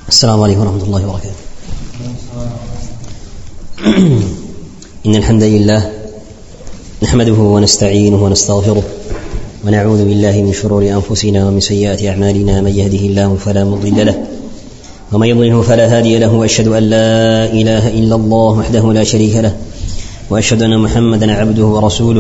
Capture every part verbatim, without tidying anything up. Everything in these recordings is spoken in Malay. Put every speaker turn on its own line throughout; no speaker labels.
السلام عليكم ورحمة الله وبركاته. إن الحمد لله نحمده ونستعينه ونستغفره ونعوذ بالله من شرور أنفسنا ومن سيئات أعمالنا. من يهده الله فلا مضل له ومن يضلله فلا هادي له، وأشهد أن لا إله إلا الله وحده لا شريك له، وأشهد أن محمدا عبده ورسوله.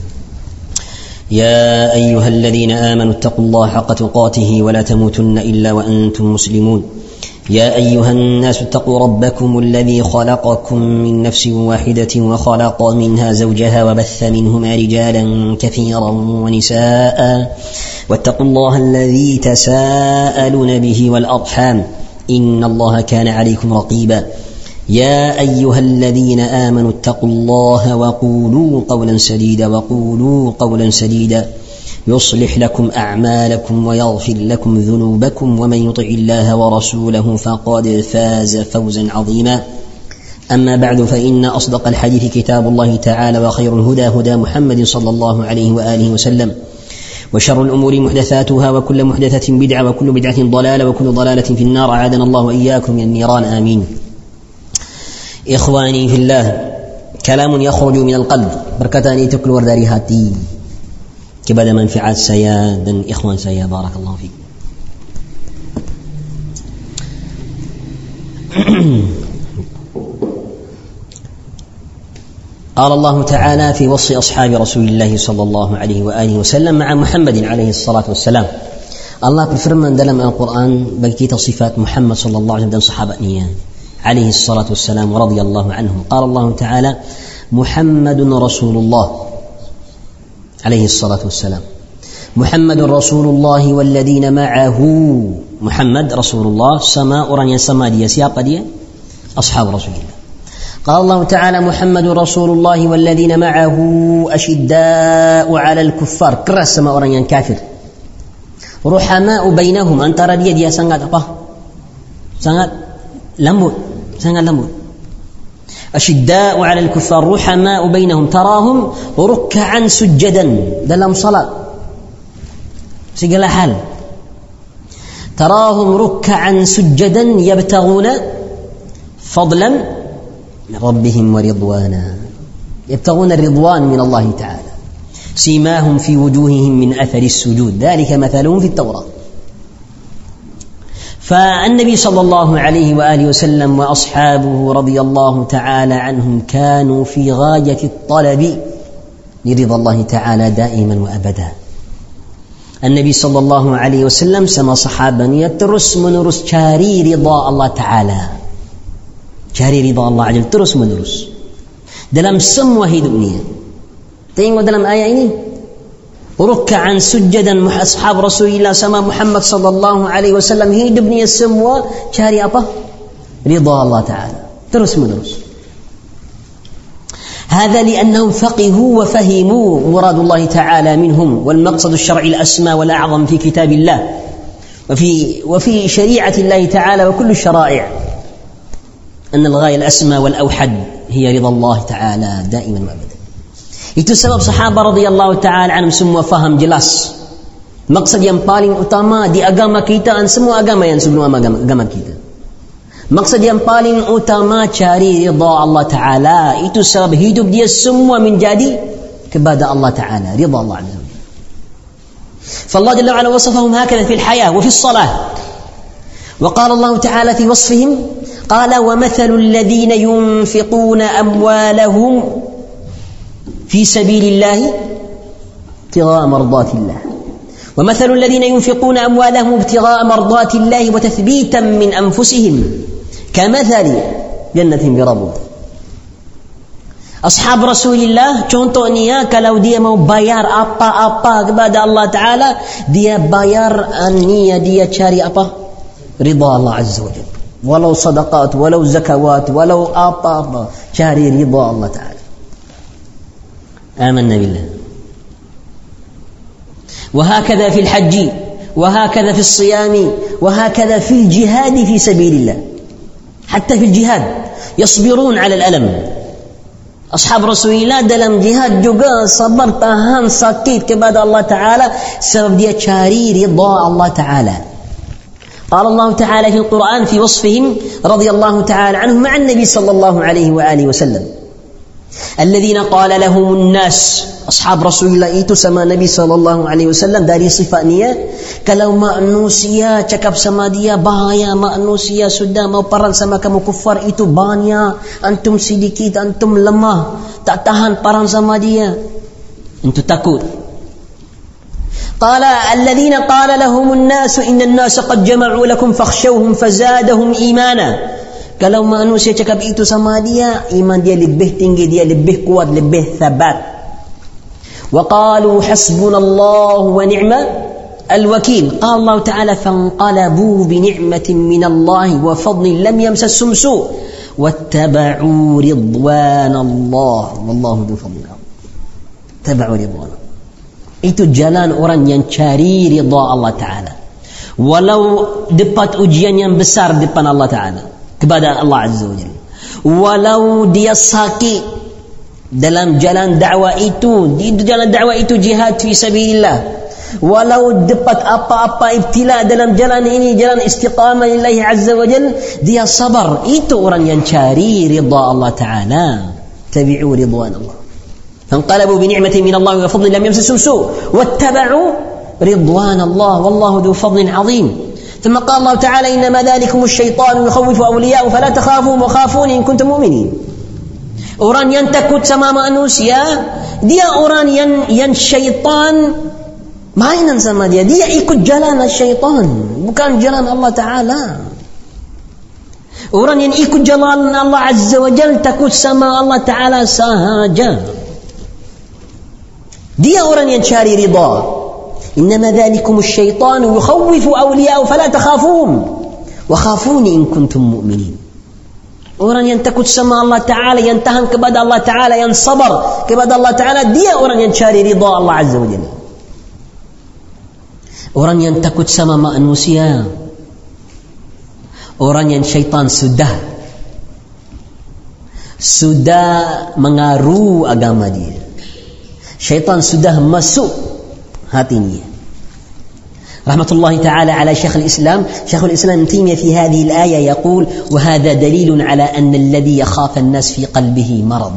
يا أيها الذين آمنوا اتقوا الله حق تقاته ولا تموتن إلا وأنتم مسلمون. يا أيها الناس اتقوا ربكم الذي خلقكم من نفس واحدة وخلق منها زوجها وبث منهما رجالا كثيرا ونساء، واتقوا الله الذي تساءلون به والأرحام إن الله كان عليكم رقيبا. يا أيها الذين آمنوا اتقوا الله وقولوا قولا سديدا وقولوا قولا سديدا يصلح لكم أعمالكم ويغفر لكم ذنوبكم، ومن يطع الله ورسوله فقد فاز فوزا عظيما. أما بعد، فإن أصدق الحديث كتاب الله تعالى، وخير الهدى هدى محمد صلى الله عليه وآله وسلم، وشر الأمور محدثاتها، وكل محدثة بدعة، وكل بدعة ضلالة، وكل ضلالة في النار. أعاذنا الله وإياكم من النيران، آمين. إخواني في الله، كلام يخرج من القلب berkata ini itu keluar dari hati kepada manfaat saya dan ikhwan saya. Barakallahu fiik. قال الله تعالى في وصف أصحاب رسول الله صلى الله عليه وآله وسلم مع محمد عليه الصلاة والسلام. Allah berfirman dalam Al-Quran bagi kita sifat Muhammad sallallahu alaihi wasallam dan sahabatnya عليه الصلاة والسلام ورضي الله عنهم. قال الله تعالى محمد رسول الله عليه الصلاة والسلام. محمد رسول الله والذين معه. محمد رسول الله sama orang yang sama dia. Siapa dia? أصحاب رسول الله. قال الله تعالى محمد رسول الله والذين معه أشداء على الكفار. keras sama orang yang kafir. رحماء بينهم. antara dia dia sangat apa? sangat lembut, sangat lembut. أشداء على الكفار رحماء بينهم تراهم ركعا سجدا dalam salat segala hal. تراهم ركعا سجدا يبتغون فضلا من ربهم ورضوانا. يبتغون الرضوان من الله تعالى. سيماهم في وجوههم من أثر السجود ذلك مثلهم في التوراة. فالنبي صلى الله عليه وآله وسلم وأصحابه رضي الله تعالى عنهم كانوا في غاية الطلب لرضا الله تعالى دائما وأبدا. النبي صلى الله عليه وسلم sama sahabatnya terus menerus cari ridha Allah Ta'ala, cari ridha Allah Azza terus menerus dalam semua hidupnya. Tengok dalam ayat ini, ruk'an sujadan ashab Rasulullah sama Muhammad sallallahu alaihi wasallam hidupnya semua cari apa? Ridha Allah Ta'ala terus menerus. هذا لأنهم فقهوا وفهموا مراد الله تعالى منهم والمقصد الشرعي الأسمى والأعظم في كتاب الله وفي وفي شريعة الله تعالى وكل الشرائع أن الغاية الأسمى والأوحد هي رضا الله تعالى دائما وأبدا. Itu sebab sahabat radhiyallahu ta'ala anhum semua faham jelas maksud yang paling utama di agama kita dan semua agama yang sebelum agama, agama kita. Maksud yang paling utama cari ridha Allah Ta'ala. Itu sebab hidup dia semua menjadi kepada Allah Ta'ala, ridha Allah Azza wa Jalla. فالله جل وعلا وصفهم هكذا في الحياة وفي الصلاة. وقال الله تعالى في وصفهم قال ومثل الذين ينفقون أموالهم في سبيل الله ابتغاء مرضات الله. ومثل الذين ينفقون أموالهم ابتغاء مرضات الله وتثبيتا من أنفسهم كمثل جنة بربوة. أصحاب رسول الله contohnya kalau dia mau bayar apa-apa kepada Allah Ta'ala, dia bayar niat dia cari apa? Ridha Allah Azza wa Jalla. Walau sadaqat, walau zakawat, walau apa-apa, cari ridha Allah Ta'ala. آمنا بالله. وهكذا في الحج، وهكذا في الصيام، وهكذا في الجهاد في سبيل الله. حتى في الجهاد يصبرون على الألم. أصحاب رسول الله dalam jihad juga sabar tahan sakit kepada Allah Ta'ala sebab dia cari ridha Allah Ta'ala. قال الله تعالى في القرآن في وصفهم رضي الله تعالى عنهم مع النبي صلى الله عليه وآله وسلم الذين قال لهم الناس أصحاب رسول الله itu sama Nabi sallallahu alaihi wasallam dari sifatnya kalau manusia cakap sama dia bahaya manusia sudah mau perang sama kamu kufar itu banyak antum sedikit antum lemah tak tahan perang sama dia antum takut قال الذين قال لهم الناس إن الناس قد جمعوا لكم فاخشوهم فزادهم إيمانا kalau manusia cakap itu sama dia iman dia lebih tinggi dia lebih kuat lebih thabat وقالوا حسبنا الله ونعم الوكيل قال الله تعالى فانقلبوا بنعمة من الله وفضل لم يمسسهم سوء واتبعوا رضوان الله والله ذو فضل اتبعوا رضوان itu jalan orang yang cari ridha Allah Ta'ala walau dapat ujian yang besar depan Allah Ta'ala kepada Allah Azza wa Jalla walau dia sakit dalam jalan dakwah itu di jalan dakwah itu jihad fi sabilillah walau dapat apa-apa ibtila dalam jalan ini jalan istiqamah lillahi Azza wa Jalla dia sabar itu orang yang cari ridha Allah Ta'ala tabi'u ridwan Allah فانقلبوا بنعمة من الله وفضل لم يمسسهم سوء واتبعوا رضوان الله والله ذو فضل عظيم ثم قال الله تعالى إنما ذلكم الشيطان يخوف أولياءه فلا تخافوا وخافون إن كنتم مؤمنين orang yang takut sama manusia dia orang yang yang syaitan mainan sama dia dia ikut jalan syaitan bukan jalan Allah Ta'ala orang yang ikut jalan Allah Azza wa Jalla takut sama Allah Ta'ala sahaja dia orang yang cari ridha innama dhalikum asy-syaitan yukhawwifu awliya'ahu fala takhafun wa khafuni in kuntum mu'minin orang yang takut sama Allah Ta'ala yang tahan kepada Allah Ta'ala yang sabar kepada Allah Ta'ala dia orang yang cari ridha Allah Azza wa Jalla orang yang takut sama manusia orang yang syaitan sudah sudah mengaruh agama dia syaitan sudah masuk hatinya rahmatullahi ta'ala ala Syekh al-Islam Syekh al-Islam Taimiyah fi hadhihi al-ayah yaqul wa hadha dalilun ala anna alladhi yakhafu an-nas fi qalbihi marad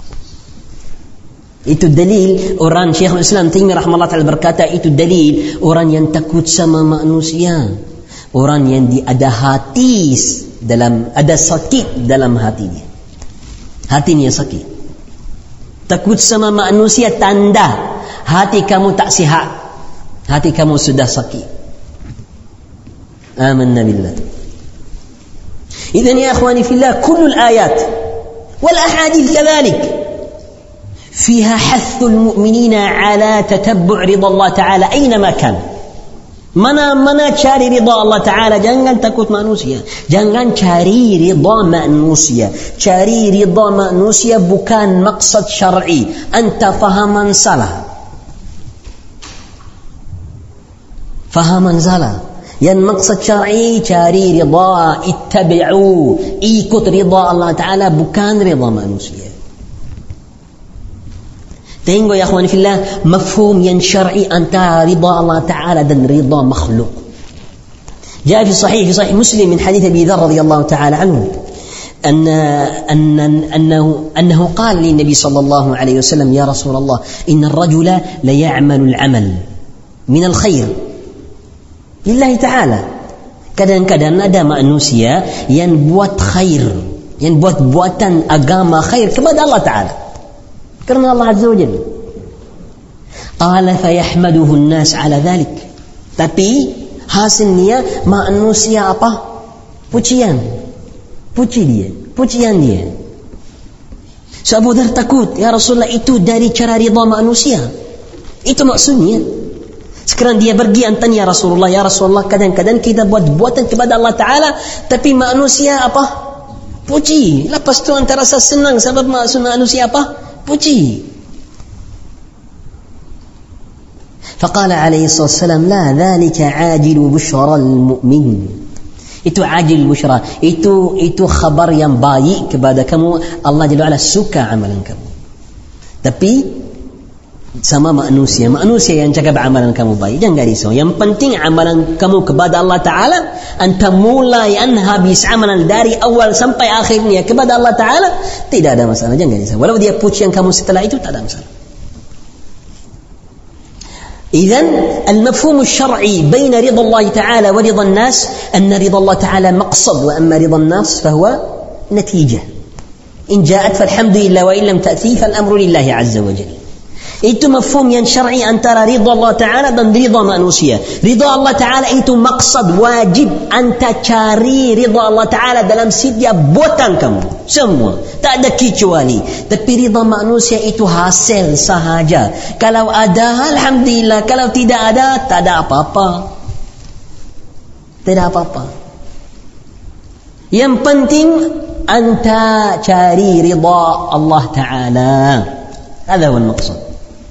itu dalil orang Syekh al-Islam Taimiyah rahimahullah ta'ala berkata itu dalil orang yang takut sama manusia orang yang di ada hati dalam ada sakit dalam hatinya hatinya sakit takut sama manusia tanda hati kamu tak sihat hati kamu sudah sakit amanna billah idzan ya akhwani fillah kullu al-ayat wal ahadith kadhalik fiha hathu al-mu'minina ala tatabbu' ridha Allah ta'ala aynama kan mana mana cari ridha Allah Ta'ala jangan takut manusia jangan cari ridha manusia cari ridha manusia bukan maksud syar'i anta fahaman salah fahaman salah yang maksud syar'i cari ridha ittabi'u ikut ridha Allah Ta'ala bukan ridha manusia tengok ya akhwani fillah mafhum yang syar'i antara ridha Allah Ta'ala dan ridha makhluk جاء في صحيح في صحيح مسلم من حديث أبي ذر رضي الله تعالى عنه أن أن أنه أنه قال للنبي صلى الله عليه وسلم يا رسول الله إن الرجل ليعمل العمل من الخير لله تعالى kadang-kadang ada manusia yang buat khair yang buat buatan agama khair kepada Allah Ta'ala karena Allah Azza wa Jalla qala fayahmaduhu an-nas ala dhalik tapi hasilnya manusia apa pujian puji dia pujian dia so Abu Dhar takut ya Rasulullah itu dari cara ridha manusia itu maksudnya sekarang dia pergi tanya ya Rasulullah ya Rasulullah kadang-kadang kita buat buatan kepada Allah Ta'ala tapi manusia apa puji lepas tu antara rasa senang sebab manusia apa puji. فقال عليه الصلاة والسلام لا ذلك عاجل بشرى المؤمن itu ajil busyra itu itu khabar yang baik kepada kamu Allah Jalla wa'ala suka amalan kamu tapi sama manusia. Manusia yang cakap amalan kamu baik, jangan risau. Yang penting amalan kamu kepada Allah Ta'ala, anta mulai an habis amalan dari awal sampai akhirnya kepada Allah Ta'ala, tidak ada masalah, jangan risau. Walau dia puji yang kamu setelah itu, tak ada masalah. إذن المفهوم الشرعي بين رضا الله تعالى ورضا الناس أن رضا الله تعالى مقصد، وأما رضا الناس فهو نتيجة. إن جاءت فالحمد لله، وإن لم تأتي فالأمر لله عز وجل. Itu mafhum yang syar'i antara ridha Allah Ta'ala dan ridha manusia. Ridha Allah Ta'ala itu maksud, wajib anta cari ridha Allah Ta'ala dalam setiap buatan kamu, semua, tak ada kecuali. Tapi ridha manusia itu hasil sahaja. Kalau ada, alhamdulillah. Kalau tidak ada, tak ada apa-apa. Tidak apa-apa. Yang penting anta cari ridha Allah Ta'ala. هذا هو المقصود.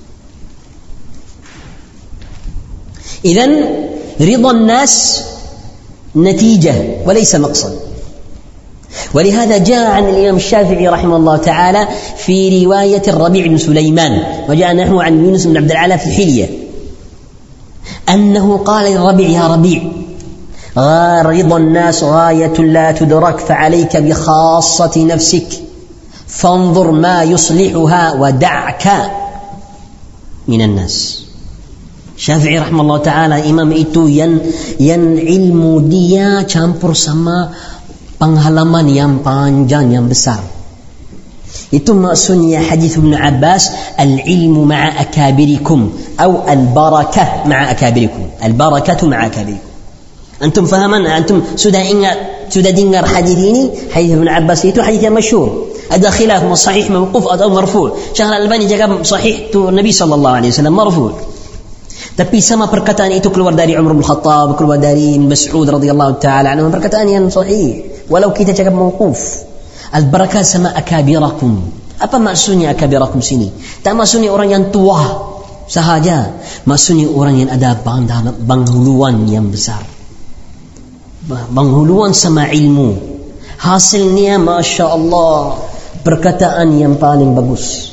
إذن رضا الناس نتيجة وليس مقصد. ولهذا جاء عن الإمام الشافعي رحمه الله تعالى في رواية الربيع بن سليمان، وجاء نحو عن يونس بن عبد العالى في الحلية أنه قال للربيع: يا ربيع، رضا الناس غاية لا تدرك، فعليك بخاصة نفسك، فانظر ما يصلحها ودعك من الناس. Syafi'i rahimahullah ta'ala, imam itu yang yang ilmu dia campur sama pengalaman yang panjang, yang besar. Itu maksudnya hadis Ibn Abbas, al-ilmu ma'a akabirikum atau al-barakah ma'a akabirikum. Al-barakatu ma'a akabirikum. Antum fahaman? Antum sudah ingat, sudah dengar hadis ini? Hadis Ibn Abbas itu hadis yang masyhur. Ada khilaf sahih mawquf atau marfu'. Syekh Al-Albani cakap sahih tu Nabi sallallahu alaihi wasallam marfu'. Tapi sama perkataan itu keluar dari Umar bin Khattab, keluar dari Mas'ud radhiyallahu ta'ala anhu, perkataan yang sahih. Walau kita cakap mawquf. Al-barakah sama akabirakum. Apa maksudnya akabirakum sini? Tak maksudnya orang yang tua sahaja. Maksudnya orang yang ada penghuluan yang besar. Penghuluan sama ilmu. Hasilnya Masya Allah, perkataan yang paling bagus.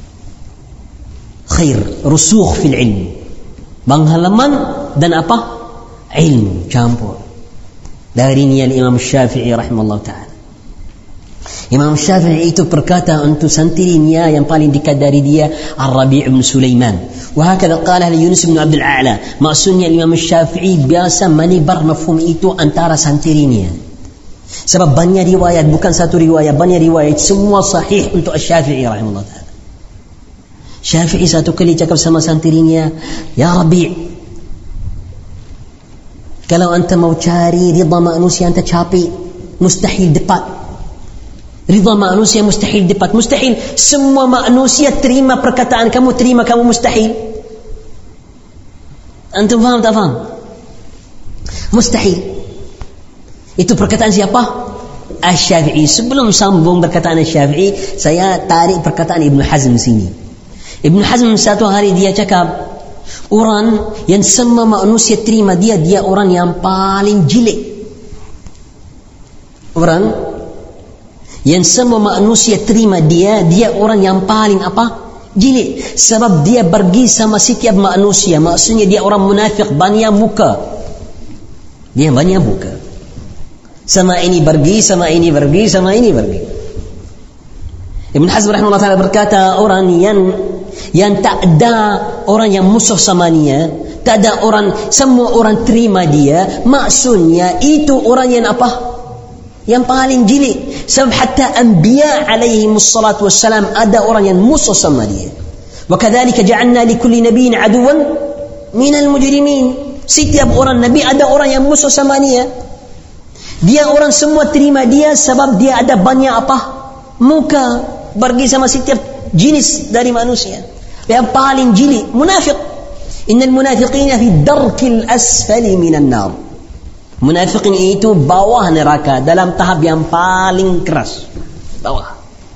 Khair, rusukh fil ilm. Penghalaman dan apa? Ilmu campur. Dari ni Imam Syafi'i rahimahullah ta'ala. Imam Syafi'i itu berkata untuk santirinya yang paling dekat dari dia, Ar-Rabi' bin Sulaiman. Wahakadha qala li Yunus bin Abdul A'la. Maksudnya Imam Syafi'i biasa menibar mafhum itu antara santirinya. Sebab banyak riwayat, bukan satu riwayat, banyak riwayat, semua sahih untuk Syafi'i rahimahullah ta'ala. Syafi'i satu kali cakap sama santirinya, ya Rabi', kalau anta mau cari ridha manusia, anta capek, mustahil dapat. Ridha manusia mustahil dapat, mustahil. Semua manusia terima perkataan kamu, terima kamu, mustahil. Antum faham tak faham? Mustahil. Itu perkataan siapa? Asy-Syafi'i. Sebelum sambung perkataan Asy-Syafi'i, saya tarik perkataan Ibn Hazm sini. Ibn Hazm satu hari dia cakap, orang yang semua manusia terima dia, dia orang yang paling jelek. Orang yang semua manusia terima dia, dia orang yang paling apa? Jelek. Sebab dia pergi sama setiap manusia. Maksudnya dia orang munafik, banyak muka. Dia banyak muka. Sama ini pergi, sama ini pergi, sama ini pergi. Ibn Hazm rahimahullah ta'ala berkata, orang yang yang tak ada orang yang musuh sama dia, tak ada orang, semua orang terima dia, maksudnya itu orang yang apa? Yang paling jelek. Sebab hatta anbiya alaihimus salatu wassalam ada orang yang musuh sama dia. Wa kadzalika ja'alna likulli nabiyyin aduwan minal mujrimin. Setiap orang nabi ada orang yang musuh sama dia. Dia orang semua terima dia sebab dia ada banyak apa? Muka. Pergi sama setiap jenis dari manusia. Yang paling jeli munafik. Innal munafiqina fi darkil asfali minan nar. Munafiqin itu bawah neraka, dalam tahap yang paling keras, bawah.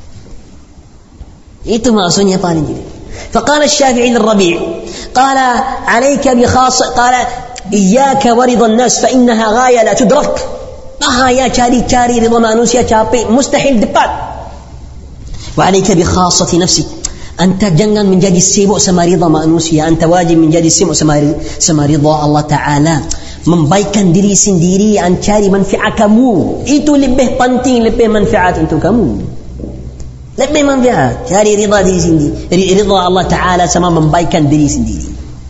Itu maksudnya paling jeli. فقال الشافعي للربيع قال عليك بخاص قال إياك ورضا الناس فإنها غاية لا تدرك. Ah ya, cari-cari ridha manusia capek, mustahil dapat. وعليك بخاصة نفسك. Anta jangan menjadi sibuk sama ridha manusia. Anta wajib menjadi sibuk sama, sama ridha Allah Ta'ala. Membaikkan diri sendiri, an cari manfaat kamu. Itu lebih penting, lebih manfaat untuk kamu. Lebih manfaat. Cari ridha diri sendiri. Ridha Allah Ta'ala sama membaikkan diri sendiri.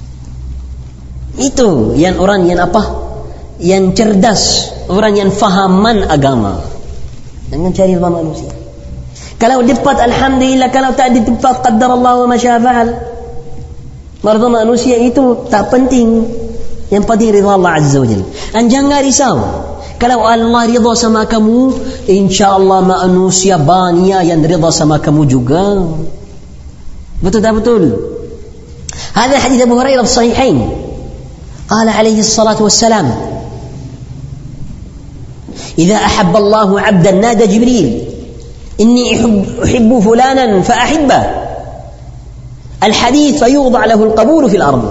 Itu yang orang yang apa? Yang cerdas. Orang yang fahaman agama. Jangan cari ridha manusia. Kalau dapat alhamdulillah, kalau tak dapat qaddar Allah wa ma syaa fa'al. Ridha manusia itu tak penting. Yang penting ridha Allah Azza wa Jalla. Dan jangan risau. Kalau Allah ridha sama kamu, insya-Allah manusia banyak yang ridha sama kamu juga. Betul tak betul? Hadis hadis Abu Hurairah fi sahihain. Qala alaihi salatu wassalam, "Idza ahabba Allah 'abdan nada Jibril, inni uhibbu fulanan fa ahibba." Al-hadits fayuḍع له القبول في الأرض.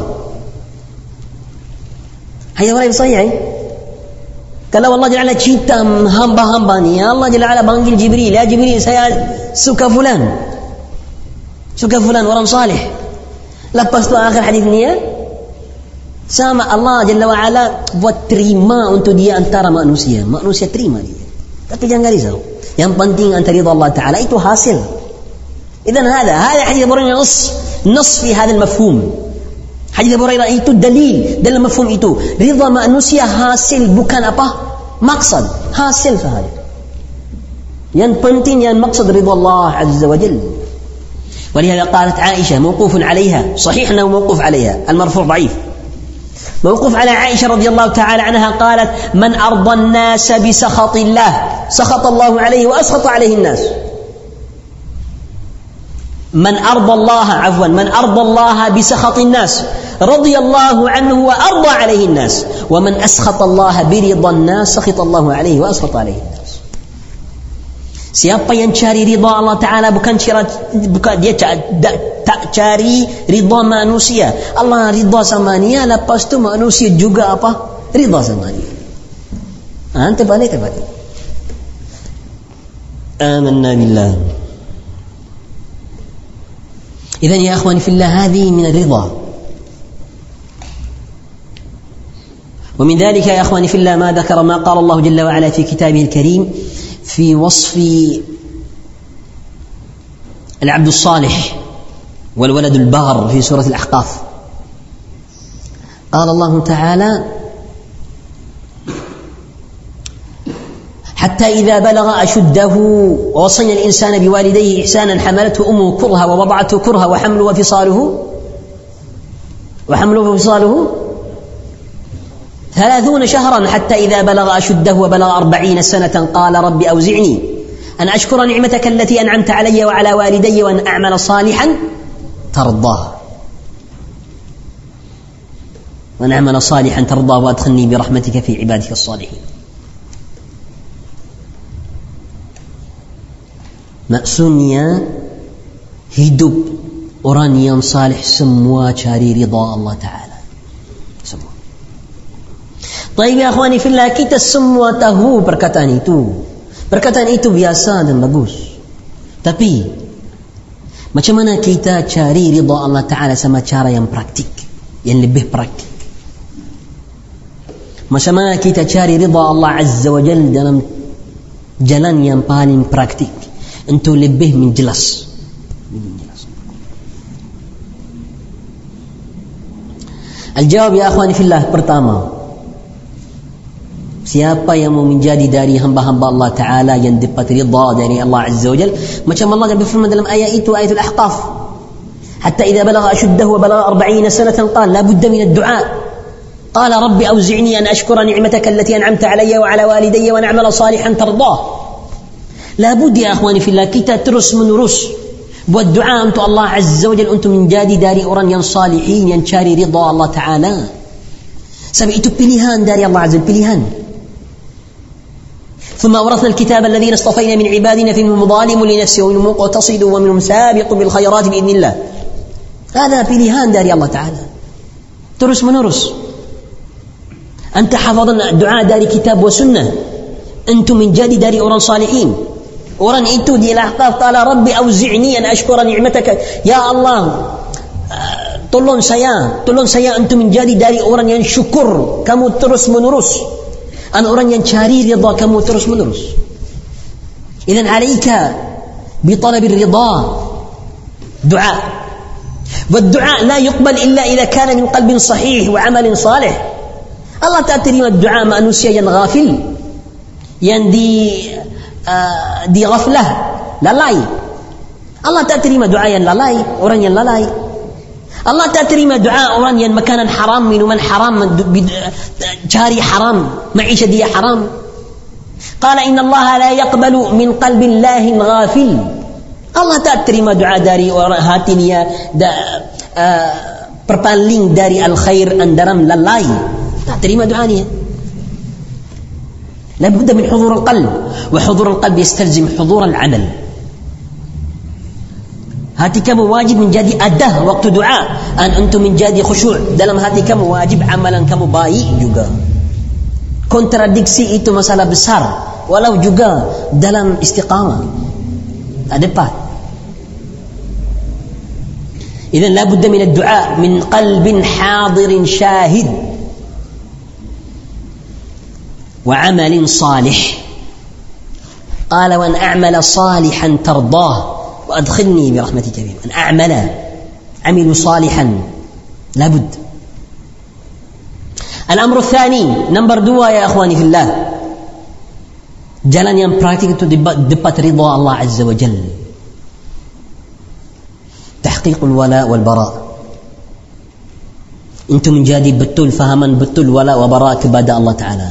Hadis Bukhari sahih. Kalau Allah Jalla cinta hamba-hamba ni, Allah Jalla panggil Jibril, ya Jibril, saya suka fulan. Suka fulan orang salih. Lepas tu akhir hadis ni ya, sama Allah Jalla wa Ala buat terima untuk dia antara manusia. Manusia terima dia. Tapi jangan risau. Yang penting antara ridha Allah Ta'ala itu hasil. Idzan hada, hada hadis Abu Hurairah nas, nas fi hada al-mafhum. Hadis Abu Hurairah itu dalil dalam mafhum itu. Ridha manusia hasil, bukan apa? Maksud. Hasil sahaja. Yang penting yang maksud ridha Allah Azza wa Jalla. ولهذا قالت عائشة موقوف عليها، صحيح أنه موقوف عليها، المرفوع ضعيف. موقوف على عائشة رضي الله تعالى عنها قالت: من أرضى الناس بسخط الله سخط الله عليه وأسخط عليه الناس. من أرضى الله عفوا من أرضى الله بسخط الناس رضي الله عنه وأرضى عليه الناس، ومن أسخط الله برضا الناس سخط الله عليه وأسخط عليه الناس. Siapa yang cari ridha Allah Ta'ala, bukan cari, bukan dia tak cari ridha manusia. Allah ridha sama dia, lepas tu manusia juga apa? Ridha sama dia. Ha, terbalik terbalik. Amanna billah. إذن يا أخواني في الله هذه من الرضا. ومن ذلك يا أخواني في الله ما ذكر ما قال الله جل وعلا في كتابه الكريم في وصف العبد الصالح والولد البار في سورة الأحقاف. قال الله تعالى: حتى إذا بلغ أشده ووصينا الإنسان بوالديه إحسانا حملته أمه كرها ووضعته كرها وحمله وفصاله وحمله وفصاله ثلاثون شهرا حتى إذا بلغ أشده وبلغ أربعين سنة قال رب أوزعني أن أشكر نعمتك التي أنعمت علي وعلى والدي وأن أعمل صالحا ترضاه وأن أعمل صالحا ترضاه وأدخلني برحمتك في عبادك الصالحين. Maksudnya hidup orang yang salih semua cari ridha Allah Ta'ala. Semua. Baik ya akhwani fillah, kita semua tahu perkataan itu. Perkataan itu biasa dan bagus. Tapi macam mana kita cari ridha Allah Ta'ala sama cara yang praktik, yang lebih praktik? Macam mana kita cari ridha Allah Azza wa Jalla dalam jalan yang paling praktik untuk lebih menjelas. Al-jawab ya akhwani fillah, pertama, siapa yang mau menjadi dari hamba-hamba Allah Ta'ala yang dapat ridha dari Allah Azza wa Jalla, macam Allah berfirman dalam ayat itu, ayat Al-Ahqaf, hatta idza balagha ashuddahu wa balagha arba'ina sanatan qala la budda min ad-du'a qala rabbi awzi'ni an ashkura ni'mataka allati an'amta alayya wa ala walidayya wa an a'mala salihan tardah. Labud ya akhwani fillah, kita terus menerus buat doa untuk Allah Azza wa Jalla untuk menjadi dari orang yang salihin, yang cari ridha Allah Ta'ala. Sebab itu pilihan dari Allah Azza wa Jalla, pilihan. ثم أورثنا الكتاب الذين اصطفينا من عبادنا فمنهم ظالم لنفسه ومنهم مقتصد ومنهم سابق بالخيرات بإذن الله. هذا pilihan dari Allah Ta'ala. Terus menerus. Anta hafadhan doa dari kitab wa sunnah, antum menjadi dari orang salihin. Orang itu di Al-Ahqaf, qala rabbi auzi'ni an ashkura ni'mataka. Ya Allah, tolong saya, tolong saya untuk menjadi dari orang yang syukur kamu terus menerus, dan orang yang cari ridha kamu terus menerus. Idzan alaika bi talab ar-ridha du'a. والدعاء لا يقبل إلا إذا كان من قلب صحيح وعمل صالح. Allah tak terima doa manusia yang ghafil, yang di uh, di ghaflah, lalai. Allah tak terima doa yang lalai, orang yang lalai. Allah tak terima doa orang yang makanan haram, minuman haram, cari haram, maisha dia haram. Qala inna Allah la yaqbalu min qalbin lahin ghafil. Allah tak terima doa dari orang hati dia da, uh, perpaling dari al-khair andaram lalai. Tak terima doa dia. لابد من حضور القلب, وحضور القلب يستلزم حضور العمل. hati kamu wajib menjadi adah waktu doa, dan untuk menjadi khusyuk dalam hati kamu wajib amalan kamu baik juga. Kontradiksi itu masalah besar, walau juga dalam istiqamah ada depan. إذن لا بد من الدعاء من قلب حاضر شاهد وعمل صالح. قال وأن أعمل صالحا ترضاه وأدخلني برحمتك بهم. أن أعمل عمل صالحا لا بد. الأمر الثاني نمبر دوا يا أخواني في الله, jalan yang praktik itu dapat ridha Allah Azza wa Jalla. تحقيق الولاء والبراء. أنتم menjadi betul fahaman betul wala wa bara kepada Allah Taala.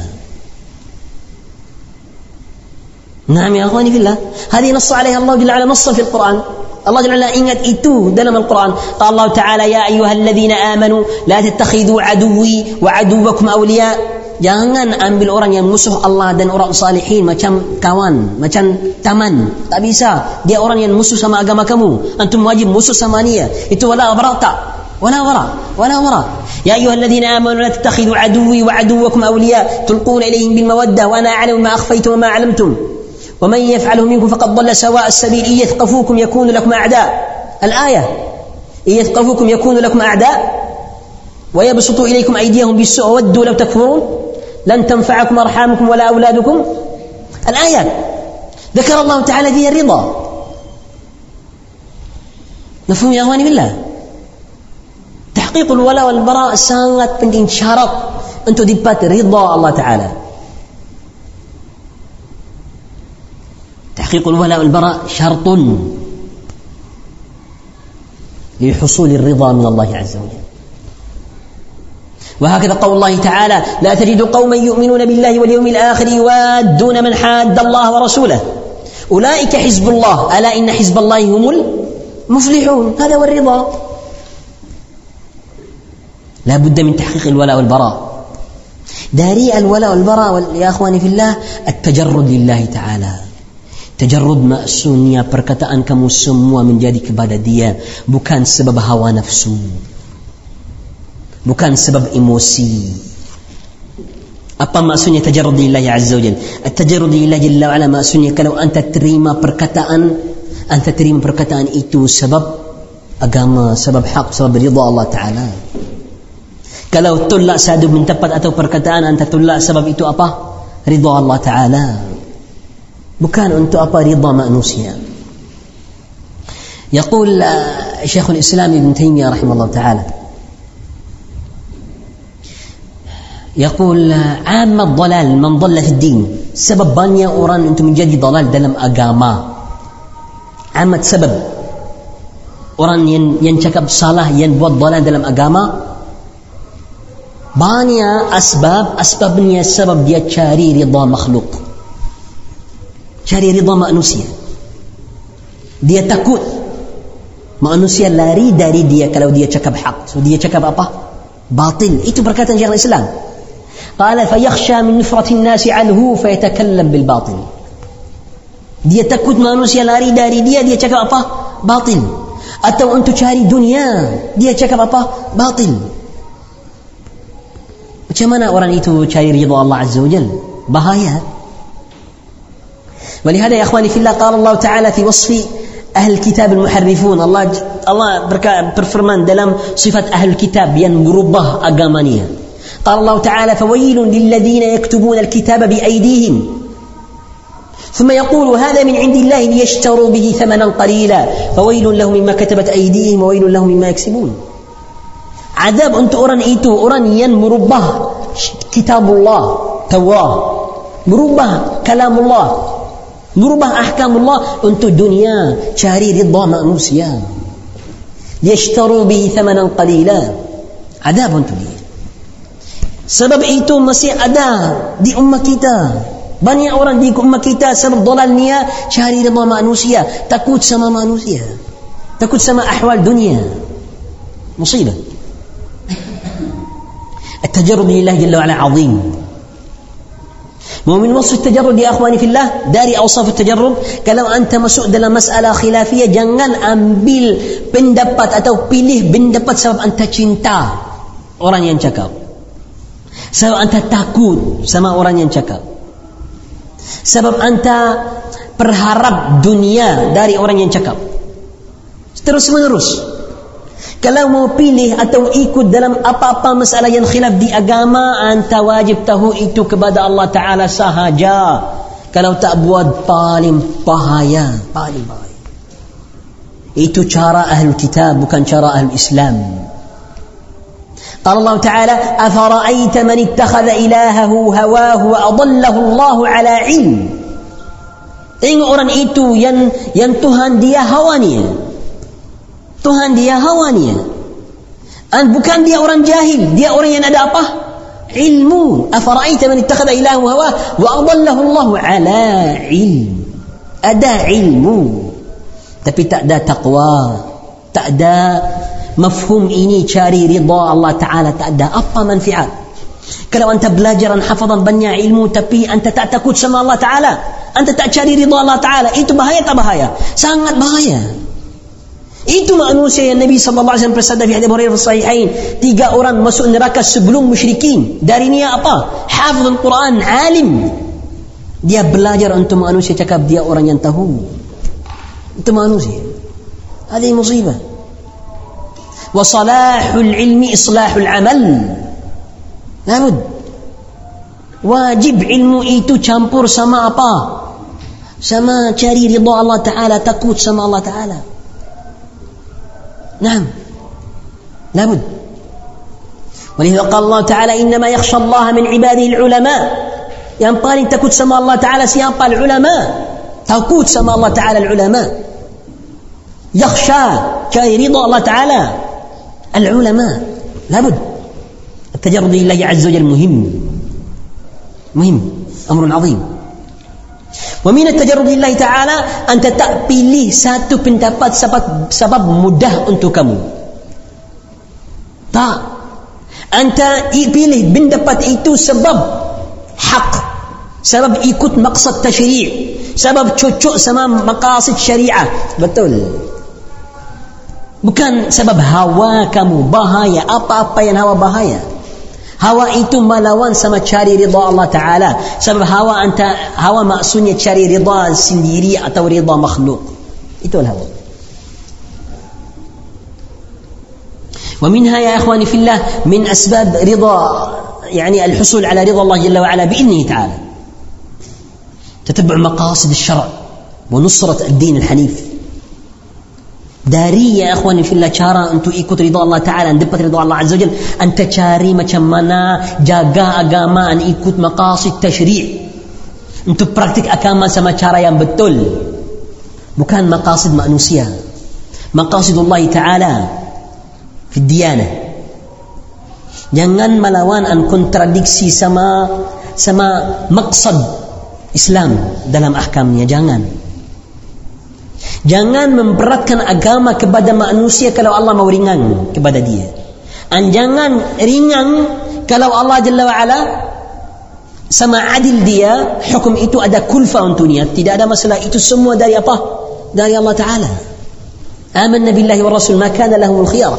نعم يا أخواني في الله, هذه نص عليها الله جل وعلا نصا في القرآن. الله جل وعلا ingat itu dalam Al-Quran. قال الله تعالى يا أيها الذين آمنوا لا تتخذوا عدوي وعدوكم أولياء. Jangan ambil orang yang musuh Allah dan orang salihin macam kawan, macam taman. Tak bisa. Dia orang yang musuh sama agama kamu, antum wajib musuh sama dia. Itu wala bara tak? Wala bara, wala bara. Ya ayyuhalladzina amanu la tattakhidhu aduwwi wa aduwwakum awliya tulquna ilayhim bil mawaddah wa ana a'lamu ma akhfaytum wa ma 'alamtum wa man yaf'alhu minkum faqad dhalla sawa'a as-sabil. In yathqafukum yakunu lakum a'da. Al-ayah. In yathqafukum yakunu lakum a'da wa yabsutu ilaykum aydiyahum bis-su'i wa waddu law takfurun لن تنفعكم أرحامكم ولا أولادكم. الآيات ذكر الله تعالى فيها الرضا. مفهوم يا أخواني بالله؟ تحقيق الولاء والبراء sangat penting, syarat untuk dapat ridha Allah Taala. تحقيق الولاء والبراء شرط لحصول الرضا من الله عز وجل. وهكذا قول الله تعالى لا تجد قوما يؤمنون بالله واليوم الآخر يوادون من حاد الله ورسوله أولئك حزب الله ألا إن حزب الله هم المفلحون. هذا هو الرضا. لا بد من تحقيق الولاء والبراء. داري الولاء والبراء يا أخواني في الله التجرد لله تعالى. تجرد maksudnya perkataan kamu semua menjadi kepada dia, bukan sebab hawa nafsu, bukan sebab emosi. Apa maksudnya tajarrud lillahi azza wajalla? At-tajarrud lillahi jalla wa ala maksudnya kalau anta terima perkataan, anta terima perkataan itu sebab agama, sebab hak, sebab ridha Allah Taala. Kalau tolak satu min tempat atau perkataan, anta tolak sebab itu apa? Ridha Allah Taala. Bukan untuk apa ridha manusia. يقول شيخ الإسلام ابن تيمية رحمه الله تعالى يقول عام الضلال من ضل في الدين. sebab banyak orang untuk menjadi dalal dalam agama. Amat sebab orang yang yang cakap salah, yang buat dalal dalam agama, banyak asbab. Asbabnya sebab dia cari ridha makhluk, cari ridha manusia. Dia takut manusia lari dari dia kalau dia cakap hak. So dia cakap apa? Batil. Itu perkataan Syekhul Islam. قال فيخشى من نفرة الناس عنه فيتكلم بالباطل. Dia takut manusia lari dari dia, dia cakap apa? Batil. Atau untuk cari dunia, dia cakap apa? Batil. Macam mana orang itu cari ridha Allah Azza wa Jalla? Bahaya. ولهذا يا أخواني في الله قال الله تعالى في وصف أهل الكتاب المحرفون. Allah Allah berfirman dalam sifat أهل الكتاب yang merubah agamanya. قال الله تعالى فويل للذين يكتبون الكتاب بأيديهم ثم يقول هذا من عند الله ليشتروا به ثمنا قليلا فويل لهم مما كتبت أيديهم وويل لهم مما يكسبون. Azab untuk orang itu, orang yang merubah kitabullah, Taurat, merubah kalamullah, merubah ahkamullah untuk dunia, cari ridha manusia. Liyashtaru bihi thamanan qalila. Azab untuk dia. Sebab itu masih ada di ummah kita. Banyak orang di ummah kita sebab dalalnya cari ridha manusia, takut sama manusia, takut sama ahwal dunia. Musibah. التجرد لله جل وعلا عظيم. ومن وصف التجرد يا أخواني في الله dari أوصاف التجرد kalau anda masuk dalam masalah khilafiyah jangan ambil pendapat atau pilih pendapat sebab anda cinta orang yang cakap, sebab anda takut sama orang yang cakap, sebab anda berharap dunia dari orang yang cakap. Terus menerus kalau mau pilih atau ikut dalam apa-apa masalah yang khilaf di agama, anta wajib tahu itu kepada Allah Ta'ala sahaja. Kalau tak buat paling bahaya, paling bahaya. Itu cara Ahlul Kitab, bukan cara Ahlul Islam. قال الله تعالى أفرأيت من اتخذ إلهه هواه وأضله الله على علم. Tengok orang itu yang yang Tuhan dia hawanya, Tuhan dia hawanya. Dan bukan dia orang jahil, dia orang yang ada apa? Ilmu. Afara'aita man ittakhadha ilahahu hawa wa adallahu Allah ala ilm. Ada ilmu tapi tak ada taqwa, tak ada mafhum ini cari ridha Allah Ta'ala, tak ada apa manfaat. Kalau anda belajar dan hafazan banyak ilmu tapi anda tak takut sama Allah Ta'ala, anda tak cari ridha Allah Ta'ala, itu bahaya tak bahaya? Sangat bahaya. Itu manusia yang Nabi sallallahu alaihi wasallam bersabda di hadis Hurairah sahihain, tiga orang masuk neraka sebelum musyrikin. Dari niat apa? Hafizul Quran, alim. Dia belajar untuk manusia cakap dia orang yang tahu. Itu manusia. Ada musibah. Wa salahul ilmi islahul amal. Labud. Wajib ilmu itu campur sama apa? Sama cari ridha Allah Ta'ala, takut sama Allah Ta'ala. نعم لابد. ولذا قال الله تعالى إنما يخشى الله من عباده العلماء. yang paling takut sama Allah Ta'ala siapa? Al-ulama. Takut sama Allah Ta'ala al-ulama. يخشى cari ridha Allah Ta'ala al-ulama. لابد. التجرد لله عز وجل مهم مهم أمر عظيم. ومن التجرد لله تعالى anta tak pilih satu pendapat sebab sebab mudah untuk kamu. Tak. Anta pilih pendapat itu sebab hak, sebab ikut maksud tashri', sebab cocok sama maqasid syariah. Betul. Bukan sebab hawa kamu. Bahaya. Apa-apa yang hawa bahaya. Hawa itu melawan sama cari ridha Allah Ta'ala. Sebab hawa anta, hawa maksudnya cari ridha sendiri atau ridha makhluk. Itu hawa. ومنها يا إخواني في الله من أسباب رضا يعني الحصول على رضا الله جل وعلا بإذنه تعالى تتبع مقاصد الشرع ونصرة الدين الحنيف. Dari ya ikhwani fillah cara untuk ikut ridha Allah Ta'ala dan dapat ridha Allah Azza wa Jalla, anta cari macam mana jaga agama dan ikut maqasid tashri', untuk praktik agama sama cara yang betul, bukan maqasid manusia, maqasidullah Ta'ala fi diyanah. Jangan melawan dan kontradiksi sama sama maksud Islam dalam ahkamnya. Jangan Jangan memberatkan agama kepada manusia kalau Allah mau ringan kepada dia. Dan jangan ringan kalau Allah Jalla wa'ala sama adil dia, hukum itu ada kulfa untuk dia. Tidak ada masalah, itu semua dari apa? Dari Allah Ta'ala. Amanna billahi wa rasul ma kana lahumul khiyarah.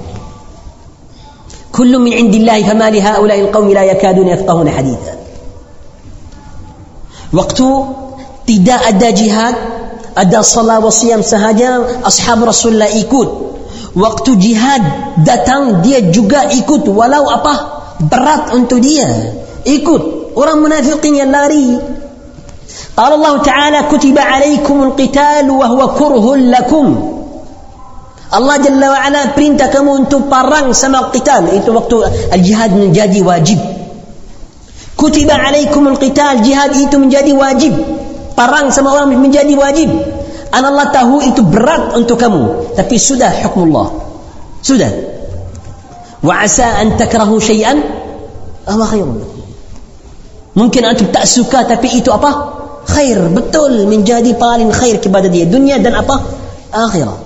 Kullu min indillahi fama li ha'ula'i al-qawmi la yakaduna yafqahuna haditha. Waktu Tidak ada jihad, ada salat wa siyam sahaja. Ashab Rasulullah ikut. Waktu jihad datang, dia juga ikut, walau apa berat untuk dia, ikut. Orang munafiqin yang lari. Qala Allah Ta'ala kutiba alaikumul qital wa huwa kurhun lakum. Allah Jalla wa Ala perintah kamu untuk perang sama qital. Itu waktu al-jihad menjadi wajib. Kutiba alaikumul qital, jihad itu menjadi wajib. Perang sama orang menjadi wajib. Allah tahu itu berat untuk kamu, tapi sudah hukmullah. Sudah. Wa asa an takrahu syai'an aw khairun. Mungkin antum tak suka, tapi itu apa? Khair, betul, menjadi paling khair kepada dia dunia dan apa? Akhirat.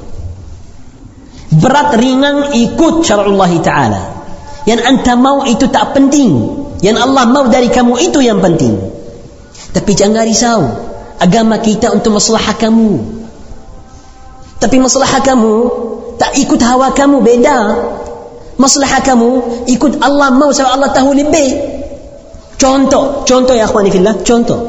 Berat ringan ikut syara'ullah Ta'ala. Yang anta mau itu tak penting. Yang Allah mau dari kamu itu yang penting. Tapi jangan risau. Agama kita untuk masalah kamu. Tapi masalah kamu tak ikut hawa kamu, beda. Masalah kamu ikut Allah mau, sebab Allah tahu lebih. Contoh, contoh ya akhwani fillah, contoh.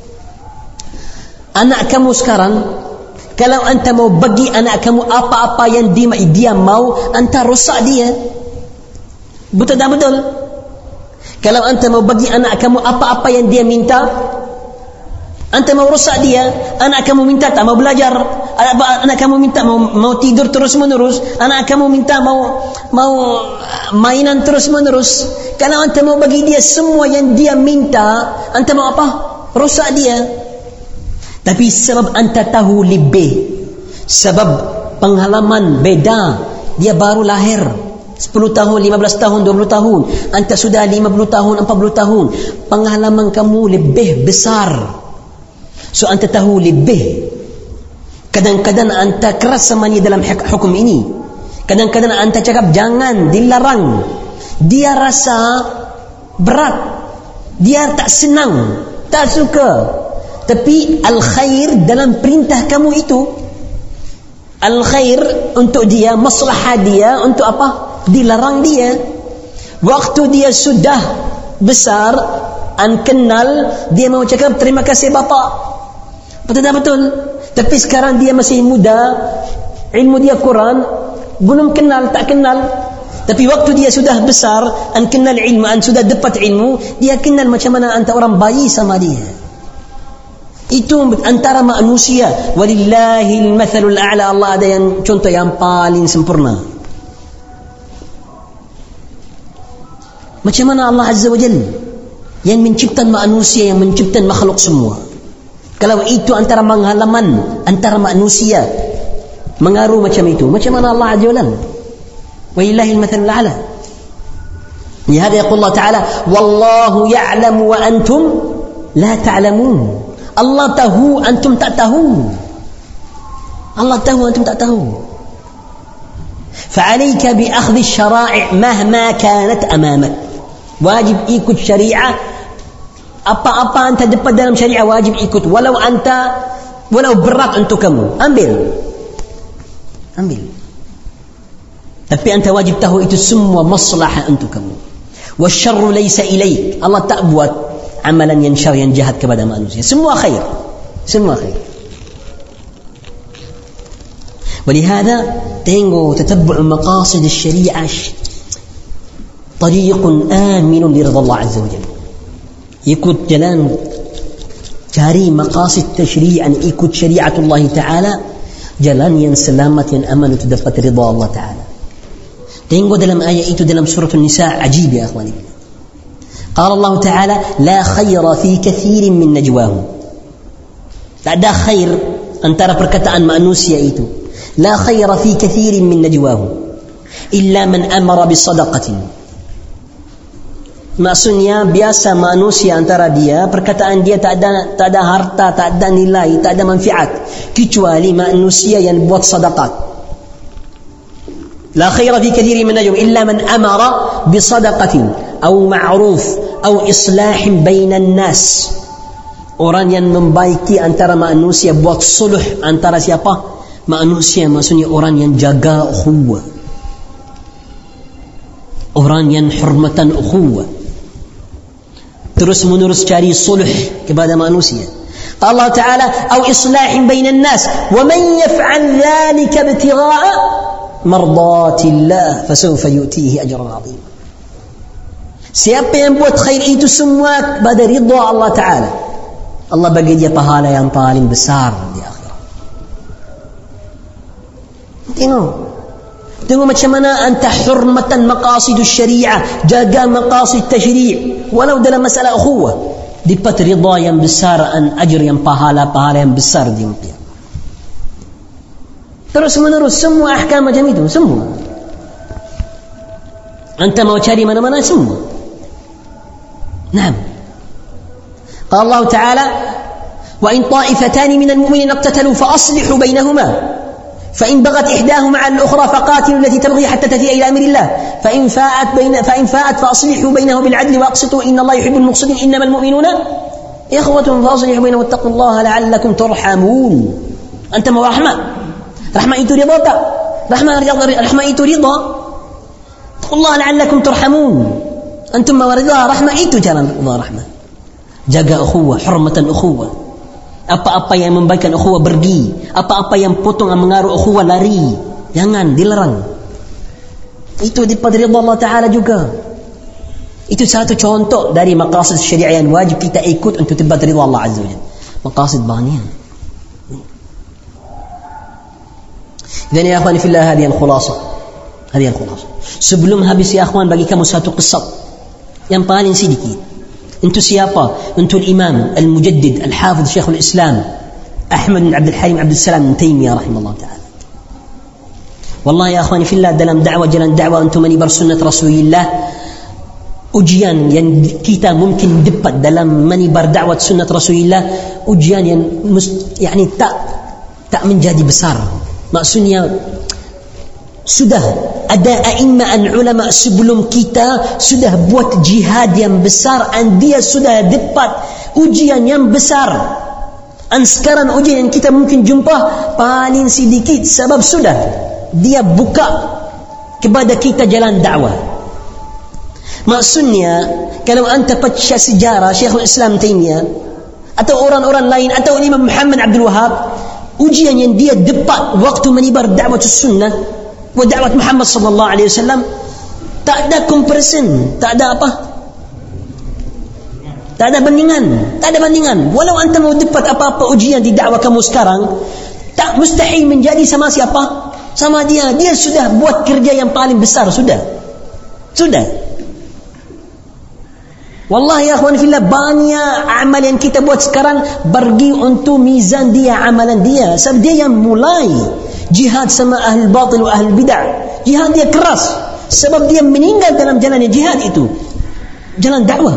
Anak kamu sekarang, kalau anta mau bagi anak kamu apa-apa yang dia, dia mau, anta rosak dia. Betul tak betul? Kalau anta mau bagi anak kamu apa-apa yang dia minta, anta mau rosak dia. Anak kamu minta tak mau belajar, anak kamu minta mau, mau tidur terus menerus, anak kamu minta mau mau mainan terus menerus. Kalau anta mau bagi dia semua yang dia minta, anta mau apa? Rosak dia. Tapi sebab anta tahu lebih, sebab pengalaman beda, dia baru lahir sepuluh tahun, lima belas tahun, dua puluh tahun, anta sudah lima puluh tahun, empat puluh tahun, pengalaman kamu lebih besar. So anta tahu lebih. Kadang-kadang anta keras sama dia dalam hukum ini. Kadang-kadang anta cakap jangan, dilarang. Dia rasa berat, dia tak senang, tak suka. Tapi al-khair dalam perintah kamu itu, al-khair untuk dia, maslahah dia, untuk apa? Dilarang dia. Waktu dia sudah besar, an kenal, dia mau cakap terima kasih bapa. Betul tak betul? Tapi sekarang dia masih muda, ilmu dia kurang, belum kenal, tak kenal. Tapi waktu dia sudah besar, an kenal ilmu, an sudah dapat ilmu, dia kenal macam mana anta orang bayi sama dia. Itu antara manusia. Walillahil mathalul a'la. Allah ada yang contoh yang paling sempurna. Macam mana Allah Azza wa Jalla yang menciptakan manusia, yang menciptakan makhluk semua. Kalau itu antara pengalaman antara manusia mengaruh macam itu, macam mana Allah Azza wa Jalla? Walillahil mathalul a'la. Lihada yaqul Allah Ta'ala, wallahu ya'lamu wa antum la ta'lamun. Allah tahu, antum tak tahu. Allah tahu, antum tak tahu. فعليك بأخذ الشرائع مهما كانت أمامك. Wajib ikut syariah. Apa-apa anta dapat dalam syariah wajib ikut, walau anta walau berat untuk kamu, ambil. Ambil. Tapi anta wajib tahu itu semua maslahah untuk kamu. Wasyarru laysa ilaik. Allah tak buat amalan yang syar, yang jahat kepada manusia. Semua khair, semua khair. ولهذا تنجو تتبع مقاصد الشريعة طريق آمن لرضا الله عز وجل. ikut jalan cari maqasid tashri'an, ikut syariat Allah Ta'ala, jalan yang selamat, yang aman untuk dapat ridha Allah Ta'ala. Tengok dalam ayat itu dalam surah An-Nisa, ajib ya akhwani. Qala Allah Ta'ala la khaira fi kathirin min najwahum. Tak ada khair antara perkataan manusia itu. La khaira fi kathirin min najwahum illa man amara bisadaqatin. Maksudnya biasa manusia antara dia, perkataan dia tak ada tak ada harta, tak ada nilai, tak ada manfaat, kecuali manusia yang buat sedekah. La khaira fi kathirin min najwahum illa man amara bisadaqatin aw ma'ruf aw islahin bainan nas. Orang yang membaiki antara manusia, buat sulh antara siapa? Manusia, maksudnya orang yang jaga ukhuwah, orang yang hormatan ukhuwah, terus menerus cari sulh kepada manusia. Allah Ta'ala أو إصلاح بين الناس ومن يفعل ذلك ابتغاء مرضات الله فسوف يؤتيه أجرا عظيما. Siapa yang buat khair itu semua pada ridha Allah Ta'ala, Allah bagi dia pahala yang paling besar di akhirat. Tengok Tengok macam mana anta hurmatan maqasidus syariah, jaga maqasid tasyri' walau dalam masalah ukhuwah, dapat ridha yang besar, an ajr yang pahala-pahala yang besar di dunia. Terus menerus semua ahkam macam itu, semua. Anta mau cari mana-mana semua. Naam. Qala Allah Ta'ala, wa in ta'ifatani minal mu'minina iqtatalu fa aslihu bainahuma فإن بغت إحداهما على الأخرى فقاتلوا التي تبغي حتى تفيء إلى أمر الله فإن فاءت بين فإن فاءت فأصلحوا بينه بالعدل وأقسطوا إن الله يحب المقسطين إنما المؤمنون إخوة فأصلحوا بينهم واتقوا الله لعلكم ترحمون. أنت ما رحمة رحمة itu رضا tak رحمة رحمة itu رضا اتقوا الله لعلكم ترحمون. أنتم ما رضا رحمة itu jalan Allah rahmah. Jaga ukhuwah, hurmatan ukhuwah. Apa-apa yang membaikkan ukhuwah pergi, apa-apa yang potong dan mengaruh ukhuwah lari, jangan, dilarang. Itu daripada ridha Allah Ta'ala juga. Itu satu contoh dari maqasid syariah yang wajib kita ikut untuk dapat ridha Allah Azza wa Jalla. Maqasid banyak. Dan ya akhwani fillah, hadiah khulasa. Hadiah khulasa. Sebelum habis ya akhwan, bagi kamu satu kisah yang paling sedikit. Untuk siapa? Untuk Imam Al-Mujaddid Al-Hafidh Syekhul Islam Ahmad bin Abdul Halim Abdul Salam bin Taimiyah rahimahullah ta'ala. Wallahi ya akhwani fillah, dalam dakwah, jalan dakwah untuk menibar sunnat Rasulullah, ujian yang kita mungkin dapat dalam menibar dakwah sunnat Rasulullah, ujian yang mus, yani tak tak menjadi besar. Maksudnya sudah ada a'imman ulama sebelum kita sudah buat jihad yang besar, dan dia sudah dapat ujian yang besar. Dan sekarang ujian yang kita mungkin jumpa paling sedikit, sebab sudah dia buka kepada kita jalan dakwah. Maksudnya kalau anta baca sejarah Syekhul Islam Taimiyah atau orang-orang lain atau Imam Muhammad Abdul Wahhab, ujian yang dia dapat waktu menibar dakwah sunnah wa dakwah Muhammad sallallahu alaihi wasallam, tak ada comparison, tak ada apa, tak ada bandingan, tak ada bandingan. Walau anta mau dapat apa-apa ujian di dakwah kamu sekarang, tak mustahil menjadi sama siapa? Sama dia. Dia sudah buat kerja yang paling besar, sudah. Sudah. Wallahi ya akhwan fillah, banyak amal yang kita buat sekarang pergi untuk mizan dia, amalan dia. Sebab dia yang mulai jihad sama ahli batil wa ahli bid'ah. Jihad dia keras, sebab dia meninggal dalam jalan jihad itu, jalan dakwah.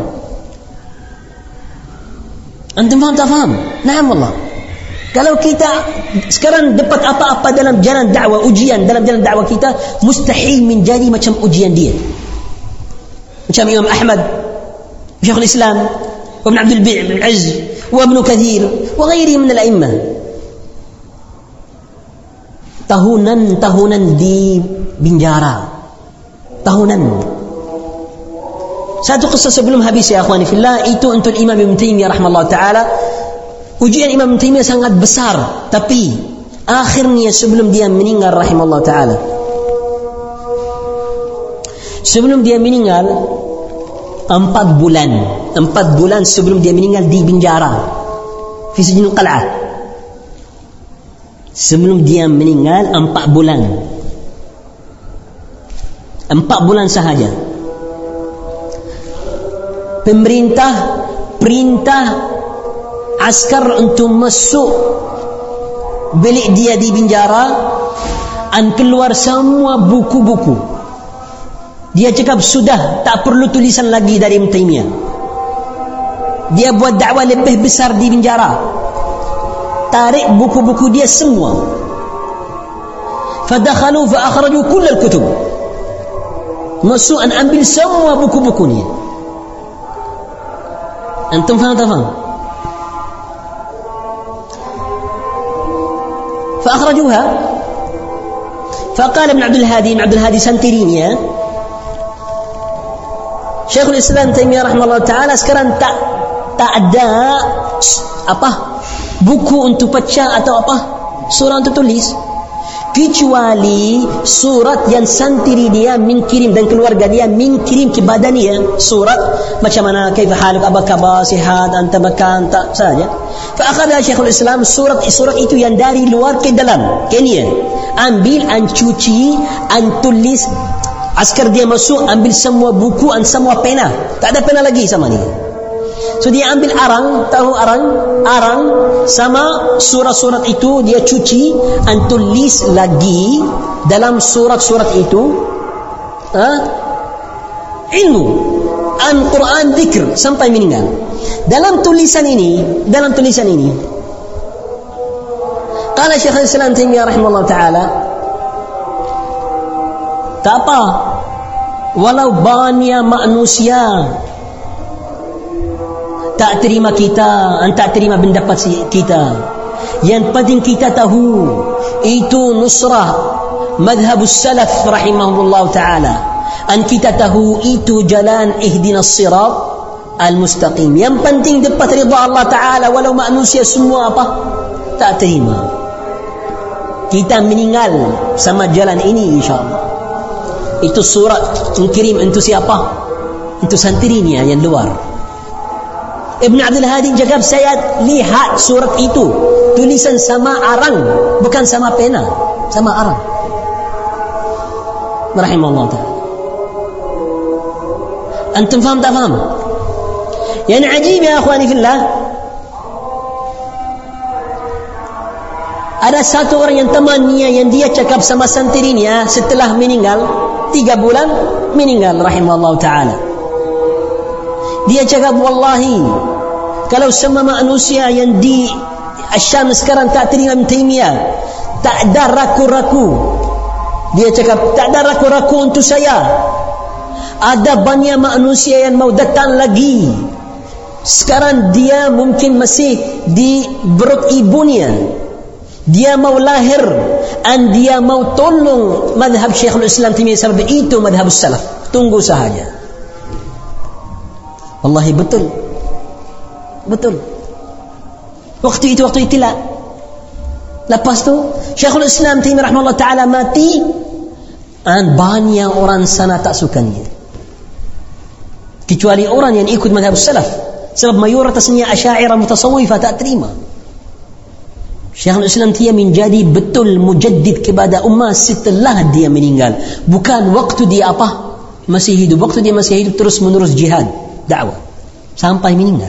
Antum faham tak faham? Naam wallah. Kalau kita sekarang dapat apa-apa dalam jalan dakwah, ujian dalam jalan dakwah kita, mustahil menjadi macam ujian dia. Macam Imam Ahmad Syekhul Islam wa Ibn Abdul Aziz wa Ibn Kathir wa ghairihim min al-a'immah. Tahunan-tahunan di penjara, tahunan. Satu kisah sebelum habis ya akhwani fillah, itu untuk Imam Ibn Taimiyah rahimahullah ta'ala. Ujian Imam Ibn Taimiyah sangat besar, tapi akhirnya sebelum dia meninggal rahimahullah ta'ala, sebelum dia meninggal empat bulan empat bulan sebelum dia meninggal di penjara fi sijnul qal'ah. Sebelum dia meninggal empat bulan empat bulan sahaja, pemerintah perintah askar untuk masuk bilik dia di penjara dan keluar semua buku-buku. Dia cakap sudah tak perlu tulisan lagi dari Ibn Taimiyah. Dia buat dakwah lebih besar di penjara, tarik buku-buku dia semua. Fadakhalu fa akhraju kull al-kutub, masuk dan ambil semua buku-buku ni. Antum faham tak faham? Fa akhrajuha. Faqala Ibn Abdul Hadi, Ibn Abdul Hadi Santirini ya, Syekhul Islam Taimiyah rahimahullah ta'ala sekarang tak tak ada apa buku untuk pecah atau apa, surah untuk tulis, kecuali surat yang santri dia mengirim dan keluarga dia mengirim kepada dia surat macam mana, kaifa haluk, apa khabar, sihat, anta makan, tak saja. Fa akhadha Syekhul Islam surat surat itu yang dari luar ke dalam Kenya, ambil, an cuci, an tulis. Askar dia masuk, ambil semua buku, an semua pena, tak ada pena lagi sama ni. So dia ambil arang, tahu arang? Arang sama surat-surat itu dia cuci, an tulis lagi dalam surat-surat itu ha? ilmu, an Quran, zikr sampai meninggal. Dalam tulisan ini, dalam tulisan ini, qala Syekhul Islam Taimiyah rahimahullah taala, tak apa, walau banyak manusia tak terima kita, tak terima pendapat kita, yang penting kita tahu itu nusrah madhabus salaf rahimahullah ta'ala, an kita tahu itu jalan ihdinas sirat al-mustaqim. Yang penting dapat ridha Allah ta'ala, walau manusia semua apa tak terima, kita meninggal sama jalan ini insyaAllah. Itu surat mengirim untuk siapa? Untuk santrinya yang luar. Ibn Abdul Hadi cakap, saya lihat surat itu tulisan sama arang, bukan sama pena, sama arang. Rahimahullah ta'ala. Antum faham tak faham? Yang ajib ya akhwani fillah, ada satu orang yang temannya yang dia cakap sama santrinya setelah meninggal, tiga bulan meninggal rahimahullah ta'ala. Dia cakap, wallahi kalau semua manusia yang di Asyam sekarang tak terima Ibn Taimiyah, tak ada ragu-ragu. Dia cakap, tak ada ragu-ragu untuk saya. Ada banyak manusia yang mau datang lagi. Sekarang dia mungkin masih di perut ibunya, dia mau lahir, dan dia mau tolong madhab Syekhul Islam Taimiyah, sebab itu madhab salaf. Tunggu sahaja. Wallahi betul, betul. Waktu itu waktu itilah. Lepas tu Syekhul Islam Taimiyah rahimahullah ta'ala mati, dan banyak orang sana tak sukanya, kecuali orang yang ikut madhab salaf, sebab mayoritasnya Asy'ariyah mutasawwifah tak terima. Syekhul Islam dia menjadi betul mujaddid kepada ummah setelah dia meninggal, bukan waktu dia apa masih hidup. Waktu dia masih hidup terus menerus jihad dakwah sampai meninggal.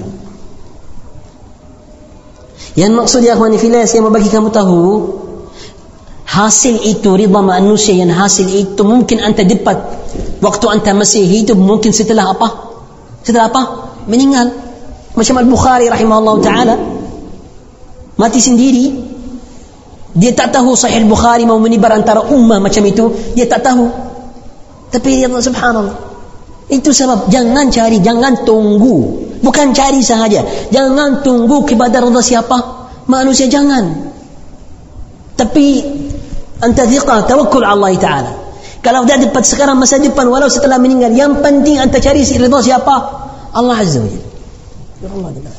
Yang maksudnya akhwani fillah, saya mau bagi kamu tahu, hasil itu ridha manusia, yang hasil itu mungkin anda dapat waktu anda masih hidup, mungkin setelah apa? Setelah apa? Meninggal. Macam Al-Bukhari rahimahullah ta'ala mati sendiri, dia tak tahu Sahih Bukhari mau menyebar antara ummah macam itu, dia tak tahu. Tapi dia subhanallah, itu sebab jangan cari, jangan tunggu. Bukan cari sahaja, jangan tunggu kepada ridha siapa? Manusia, jangan. Tapi anta thiqah, tawakkul Allah Ta'ala. Kalau dah dapat sekarang, masa depan, walau setelah meninggal, yang penting anta cari ridha siapa? Allah Azza wa Jalla. Ya Allah Ta'ala.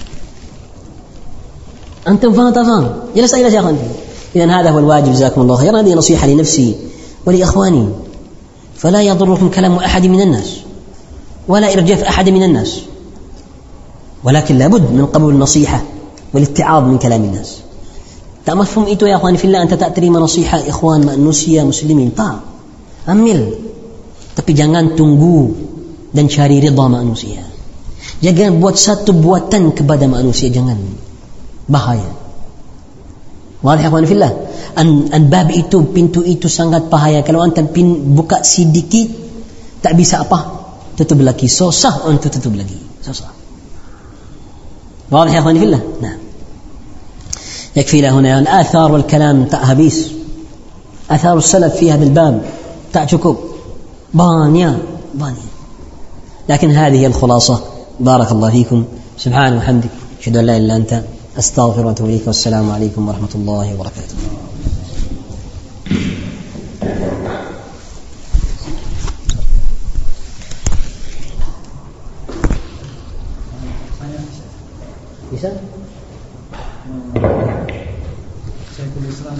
أنتم فهم تفهم جلس إلى شيخ. إذن هذا هو الواجب، جزاكم الله خيرا. هذه نصيحة لنفسي ولإخواني، فلا يضركم كلام أحد من الناس ولا إرجاف أحد من الناس، ولكن لابد من قبول النصيحة والاتعاظ من كلام الناس. tak mafhum itu ya akhwani fillah, anta tak terima nasihat ikhwan manusia muslimin, tak, ambil, tapi jangan tunggu dan cari ridha manusia. Jangan buat satu buatan kepada manusia, jangan, bahaya. Wallahi akhwan fillah, an, an bab itu, pintu itu sangat bahaya. Kalau anda pin, buka sedikit, tak bisa apa, tutup lagi, susah untuk tutup lagi, susah. Wallahi akhwan fillah. Nah, يكفي له هنا الآثار والكلام tak habis. آثار السلف في هذا الباب tak cukup, banyak banyak. لكن هذه الخلاصة. بارك الله فيكم، سبحانه وحمدك، أشهد أن لا إله إلا أنت، أستغفر وأتوب إليك، والسلام عليكم ورحمة الله وبركاته. bisa
Syekhul Islam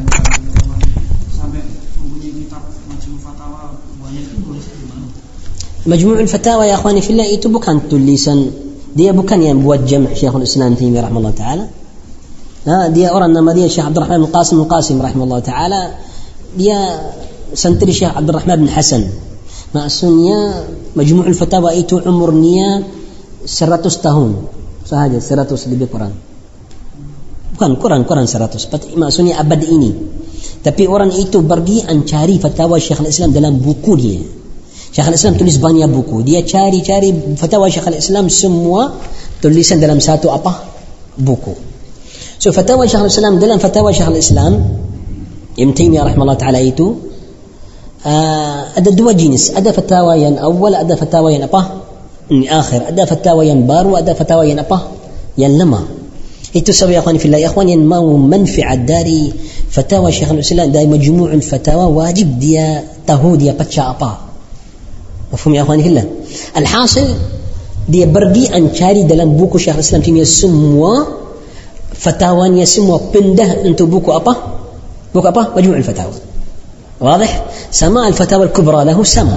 sampai mempunyai kitab Majmu' Fatawa banyak itu tulisan di mana?
Majmu' Fatawa ya akhwani fillah itu bukan tulisan, dia bukan yang buat jam' Syekhul Islam Taimiyah rahimahullah taala. Nah, dia orang nama dia Syekh Abdul Rahman bin Qasim Al-Qasim rahimahullah taala. Dia santri Syekh Abdul Rahman bin Hasan. Maksudnya Majmu' Fatawa itu umurnya seratus tahun sahaja, seratus lebih kurang. Bukan kurang kurang seratus, maksudnya abad ini. Tapi orang itu pergi mencari fatwa Syekhul Islam dalam buku dia. Syekhul Islam tulis banyak buku. Dia cari-cari fatwa Syekhul Islam semua tulisan dalam satu apa? Buku. So fatwa Syekhul Islam dalam fatwa Syekhul Islam Ibn Taimiyah rahimahullah taala itu uh, ada dua jenis. Ada fatwa yang awal, ada fatwa yang apa? Ini akhir. Ada fatwa yang baru, ada fatwa yang apa? Yang lama. Itu sebab ya akhwan fillah, ikhwan yang mau manfaat dari fatwa Syekhul Islam dari majmu'ul fatwa wajib dia tahu dia baca apa. Mafhum ya akhwan fillah? Alhasil dia pergi mencari dalam buku Syekhul Islam Taimiyah semua fatwanya semua pindah untuk buku apa? Buku apa? Majmu'ul fatwa. واضح؟ سماع الفتاوى الكبرى له سما.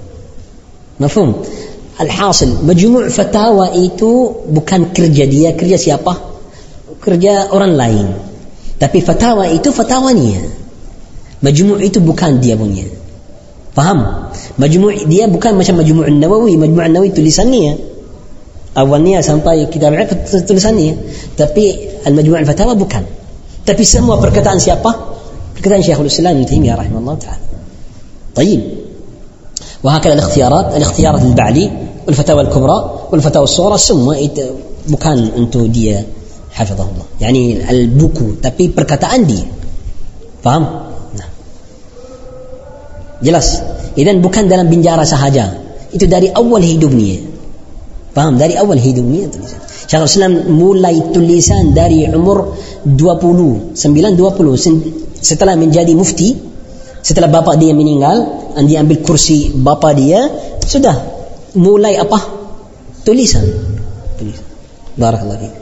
مفهوم؟ Alhasil majmu' fatwa itu bukan kerja dia, kerja siapa? Kerja orang lain. Tapi fatwa itu fatwanya. Majmu' itu bukan dia punya. Faham? Majmu' dia bukan macam Majmu' An-Nawawi. Majmu' An-Nawawi tulisannya awalnya sampai kitab al-fiqh tulisannya. Tapi al-Majmu' al-Fatawa bukan. Tapi semua perkataan siapa? Perkataan Syekhul Islam Ibn Taimiyah rahimahullah taala. طيب. وهكذا الاختيارات الاختيارات البعلي والفتاوى الكبرى والفتاوى الصغرى semua itu bukan untuk dia hafizahullah, yani al-buku, tapi perkataan dia. Faham? Nah. Jelas? Idan bukan dalam penjara sahaja, itu dari awal hidupnya. Faham? Dari awal hidupnya tulisan. Syekhul Islam mulai tulisan dari umur dua puluh sembilan dua puluh setelah menjadi mufti, setelah bapa dia meninggal, dan dia ambil kursi bapa dia, sudah mulai apa? Tulisan. Tulisan. Barakallahu fiik.